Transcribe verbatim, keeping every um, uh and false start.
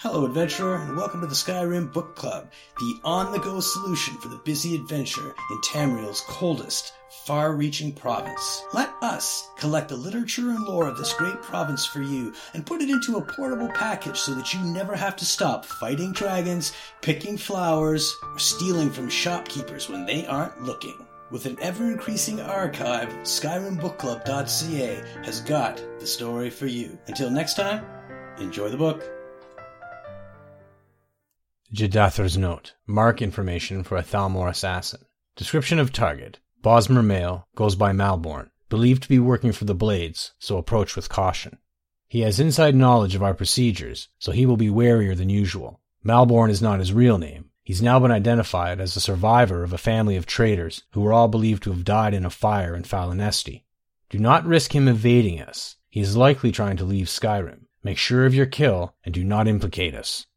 Hello, adventurer, and welcome to the Skyrim Book Club, the on-the-go solution for the busy adventurer in Tamriel's coldest, far-reaching province. Let us collect the literature and lore of this great province for you and put it into a portable package so that you never have to stop fighting dragons, picking flowers, or stealing from shopkeepers when they aren't looking. With an ever-increasing archive, Skyrim Book Club dot c a has got the story for you. Until next time, enjoy the book. Jedathar's Note. Mark information for a Thalmor assassin. Description of target. Bosmer male, goes by Malborn. Believed to be working for the Blades, so approach with caution. He has inside knowledge of our procedures, so he will be warier than usual. Malborn is not his real name. He's now been identified as a survivor of a family of traitors who were all believed to have died in a fire in Falinesti. Do not risk him evading us. He is likely trying to leave Skyrim. Make sure of your kill and do not implicate us.